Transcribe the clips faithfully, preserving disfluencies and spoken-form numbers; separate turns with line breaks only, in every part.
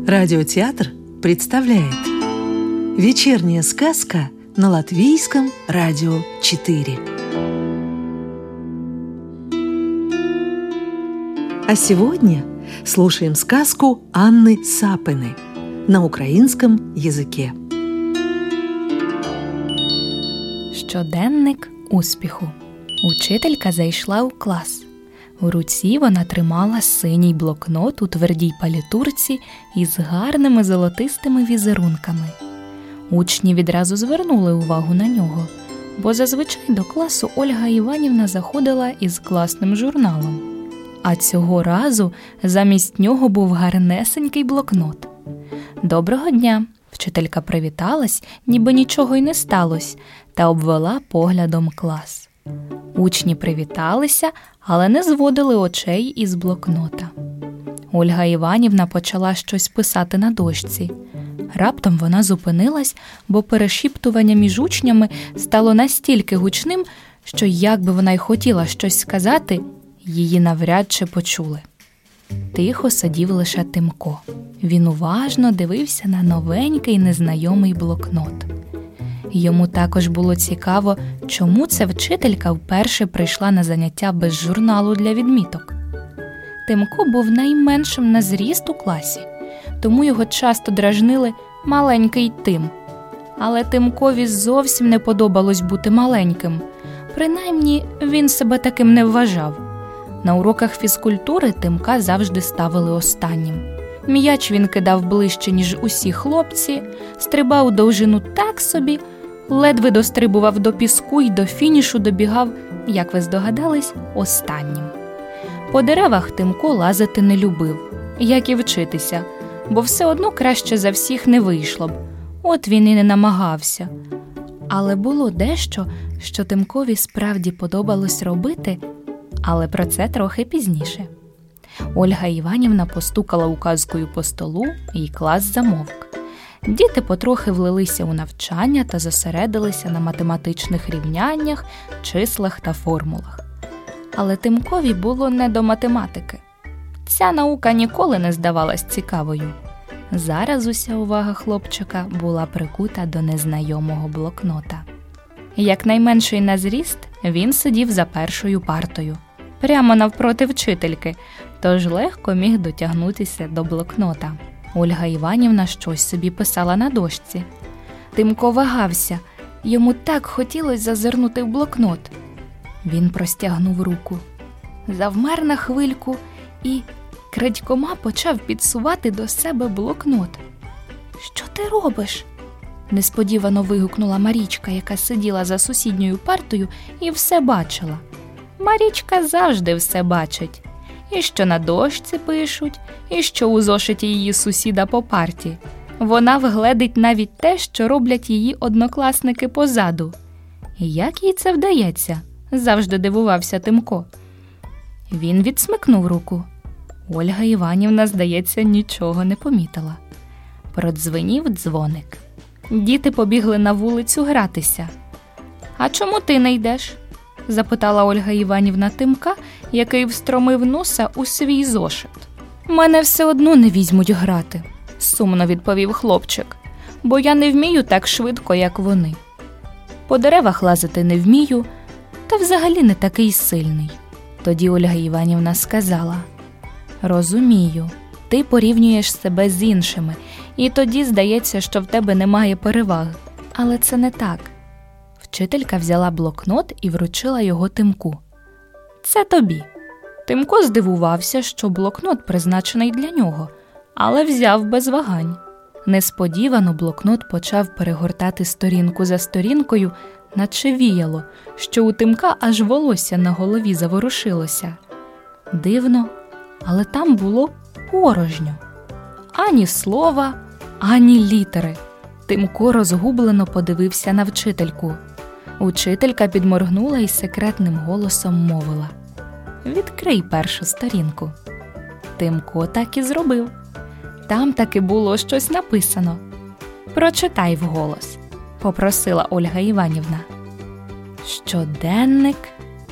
Радиотеатр представляет «Вечерняя сказка» на Латвийском радио четыре. А сегодня слушаем сказку Анны Сапины на українському язикі.
Щоденник успіху. Учителька зайшла у клас. У руці вона тримала синій блокнот у твердій палітурці із гарними золотистими візерунками. Учні відразу звернули увагу на нього, бо зазвичай до класу Ольга Іванівна заходила із класним журналом. А цього разу замість нього був гарнесенький блокнот. «Доброго дня!» Вчителька привіталась, ніби нічого й не сталося, та обвела поглядом клас. Учні привіталися, але не зводили очей із блокнота. Ольга Іванівна почала щось писати на дошці. Раптом вона зупинилась, бо перешіптування між учнями стало настільки гучним, що як би вона й хотіла щось сказати, її навряд чи почули. Тихо сидів лише Тимко. Він уважно дивився на новенький незнайомий блокнот. Йому також було цікаво, чому ця вчителька вперше прийшла на заняття без журналу для відміток. Тимко був найменшим на зріст у класі, тому його часто дражнили «маленький Тим». Але Тимкові зовсім не подобалось бути маленьким. Принаймні, він себе таким не вважав. На уроках фізкультури Тимка завжди ставили останнім. М'яч він кидав ближче, ніж усі хлопці, стрибав у довжину так собі, ледве дострибував до піску й до фінішу добігав, як ви здогадались, останнім. По деревах Тимко лазити не любив, як і вчитися, бо все одно краще за всіх не вийшло б. От він і не намагався. Але було дещо, що Тимкові справді подобалось робити, але про це трохи пізніше. Ольга Іванівна постукала указкою по столу, і клас замовк. Діти потрохи влилися у навчання та зосередилися на математичних рівняннях, числах та формулах. Але Тимкові було не до математики. Ця наука ніколи не здавалась цікавою. Зараз уся увага хлопчика була прикута до незнайомого блокнота. Як найменший на зріст, він сидів за першою партою, прямо навпроти вчительки, тож легко міг дотягнутися до блокнота. Ольга Іванівна щось собі писала на дошці. Тимко вагався, йому так хотілося зазирнути в блокнот. Він простягнув руку, завмер на хвильку і крадькома почав підсувати до себе блокнот. «Що ти робиш?» – несподівано вигукнула Марічка, яка сиділа за сусідньою партою і все бачила. Марічка завжди все бачить. І що на дошці пишуть, і що у зошиті її сусіда по парті. Вона вгледить навіть те, що роблять її однокласники позаду. І як їй це вдається? Завжди дивувався Тимко. Він відсмикнув руку. Ольга Іванівна, здається, нічого не помітила. Продзвенів дзвоник. Діти побігли на вулицю гратися. «А чому ти не йдеш?» – запитала Ольга Іванівна Тимка, який встромив носа у свій зошит. «Мене все одно не візьмуть грати», – сумно відповів хлопчик, «бо я не вмію так швидко, як вони. По деревах лазити не вмію, та взагалі не такий сильний». Тоді Ольга Іванівна сказала: «Розумію, ти порівнюєш себе з іншими, і тоді здається, що в тебе немає переваг. Але це не так». Вчителька взяла блокнот і вручила його Тимку. «Це тобі». Тимко здивувався, що блокнот призначений для нього, але взяв без вагань. Несподівано блокнот почав перегортати сторінку за сторінкою, наче віяло, що у Тимка аж волосся на голові заворушилося. Дивно, але там було порожньо. Ані слова, ані літери. Тимко розгублено подивився на вчительку. Учителька підморгнула і секретним голосом мовила: «Відкрий першу сторінку». Тимко так і зробив. Там таки було щось написано. «Прочитай вголос», – попросила Ольга Іванівна. «Щоденник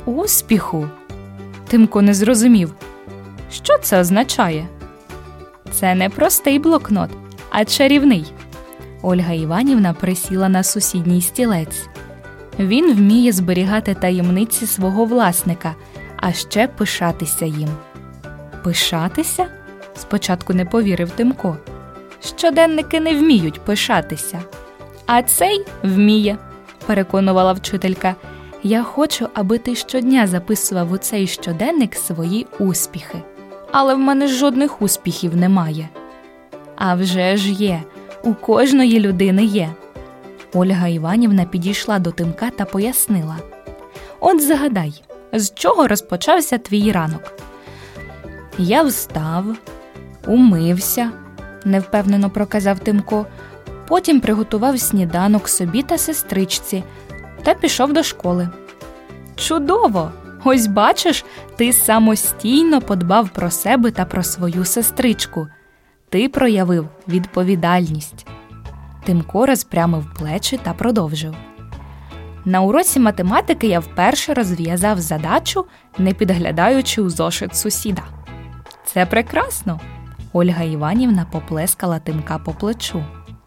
успіху». Тимко не зрозумів. Що це означає? Це не простий блокнот, а чарівний. Ольга Іванівна присіла на сусідній стілець. Він вміє зберігати таємниці свого власника, а ще пишатися їм. Пишатися? Спочатку не повірив Тимко. Щоденники не вміють пишатися. А цей вміє, переконувала вчителька. Я хочу, аби ти щодня записував у цей щоденник свої успіхи. Але в мене жодних успіхів немає. А вже ж є, у кожної людини є. Ольга Іванівна підійшла до Тимка та пояснила. От загадай, з чого розпочався твій ранок? Я встав, умився, невпевнено проказав Тимко, потім приготував сніданок собі та сестричці та пішов до школи. Чудово! Ось бачиш, ти самостійно подбав про себе та про свою сестричку. Ти проявив відповідальність. Тимко розпрямив плечі та продовжив. На уроці математики я вперше розв'язав задачу, не підглядаючи у зошит сусіда. Це прекрасно! Ольга Іванівна поплескала Тимка по плечу.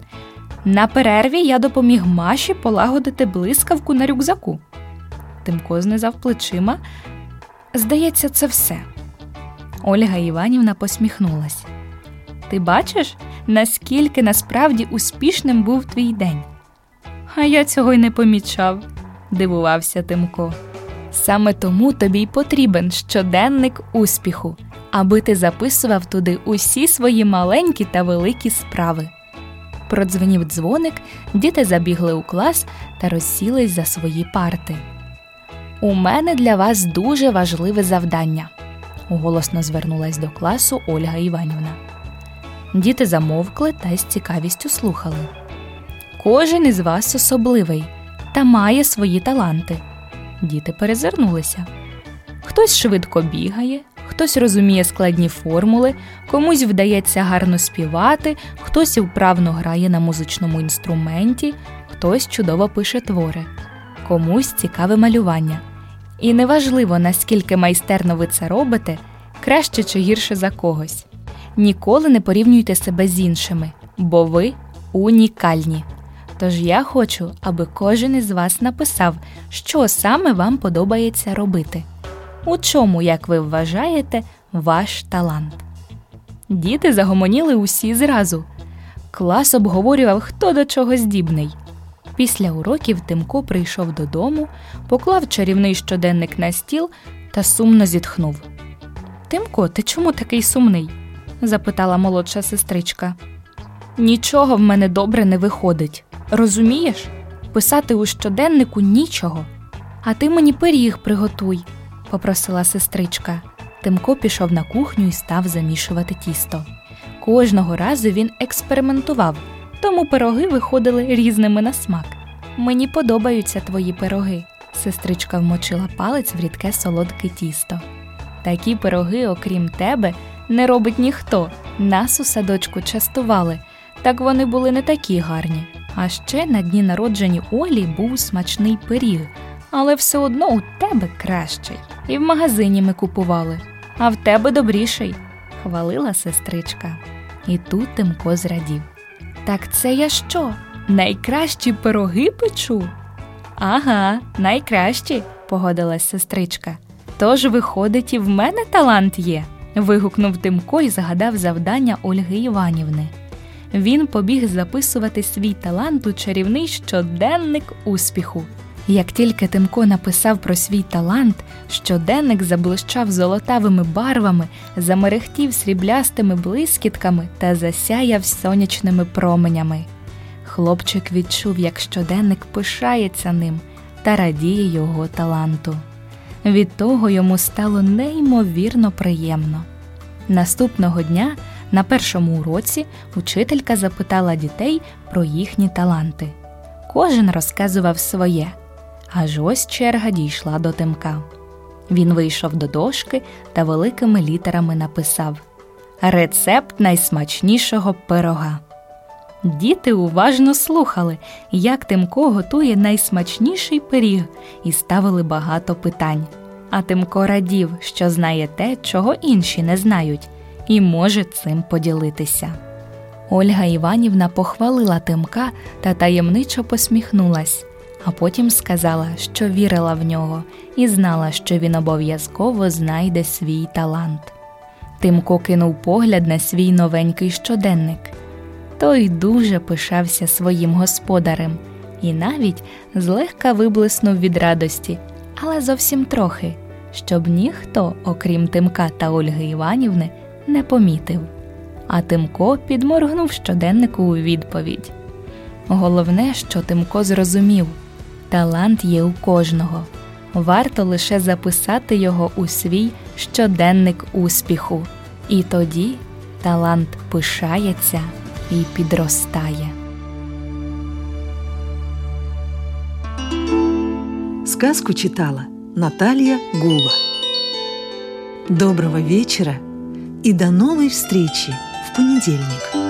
На перерві я допоміг Маші полагодити блискавку на рюкзаку. Тимко знизав плечима. Здається, це все. Ольга Іванівна посміхнулась. Ти бачиш, наскільки насправді успішним був твій день? А я цього й не помічав, дивувався Тимко. Саме тому тобі й потрібен щоденник успіху, аби ти записував туди усі свої маленькі та великі справи. Продзвенів дзвоник, діти забігли у клас та розсілись за свої парти. «У мене для вас дуже важливе завдання», – голосно звернулась до класу Ольга Іванівна. Діти замовкли та з цікавістю слухали. «Кожен із вас особливий та має свої таланти». Діти перезирнулися. Хтось швидко бігає, хтось розуміє складні формули, комусь вдається гарно співати, хтось вправно грає на музичному інструменті, хтось чудово пише твори, комусь цікаве малювання. І неважливо, наскільки майстерно ви це робите, краще чи гірше за когось. Ніколи не порівнюйте себе з іншими, бо ви унікальні. Тож я хочу, аби кожен із вас написав, що саме вам подобається робити. У чому, як ви вважаєте, ваш талант? Діти загомоніли усі зразу. Клас обговорював, хто до чого здібний. Після уроків Тимко прийшов додому, поклав чарівний щоденник на стіл та сумно зітхнув. «Тимко, ти чому такий сумний?» – запитала молодша сестричка. «Нічого в мене добре не виходить. Розумієш? Писати у щоденнику нічого. А ти мені пиріг приготуй», – попросила сестричка. Тимко пішов на кухню і став замішувати тісто. Кожного разу він експериментував, тому пироги виходили різними на смак. «Мені подобаються твої пироги», – сестричка вмочила палець в рідке солодке тісто. «Такі пироги, окрім тебе, не робить ніхто. Нас у садочку частували, так вони були не такі гарні. А ще на дні народження Олі був смачний пиріг, але все одно у тебе кращий. І в магазині ми купували, а в тебе добріший», – хвалила сестричка. І тут Тимко зрадів. «Так це я що, найкращі пироги печу?» «Ага, найкращі», – погодилась сестричка. «Тож, виходить, і в мене талант є», – вигукнув Тимко і згадав завдання Ольги Іванівни. Він побіг записувати свій талант у чарівний щоденник успіху. Як тільки Тимко написав про свій талант, щоденник заблищав золотавими барвами, замерехтів сріблястими блискітками та засяяв сонячними променями. Хлопчик відчув, як щоденник пишається ним та радіє його таланту. Від того йому стало неймовірно приємно. Наступного дня на першому уроці учителька запитала дітей про їхні таланти. Кожен розказував своє. Аж ось черга дійшла до Тимка. Він вийшов до дошки та великими літерами написав «Рецепт найсмачнішого пирога». Діти уважно слухали, як Тимко готує найсмачніший пиріг, і ставили багато питань. А Тимко радів, що знає те, чого інші не знають, і може цим поділитися. Ольга Іванівна похвалила Тимка та таємничо посміхнулась, а потім сказала, що вірила в нього і знала, що він обов'язково знайде свій талант. Тимко кинув погляд на свій новенький щоденник. Той дуже пишався своїм господарем і навіть злегка виблиснув від радості, але зовсім трохи, щоб ніхто, окрім Тимка та Ольги Іванівни, не помітив. А Тимко підморгнув щоденнику у відповідь. Головне, що Тимко зрозумів – талант є у кожного. Варто лише записати його у свій щоденник успіху. І тоді талант пишається і підростає.
Сказку читала Наталья Гула. Доброго вечера и до новой встречи в понедельник.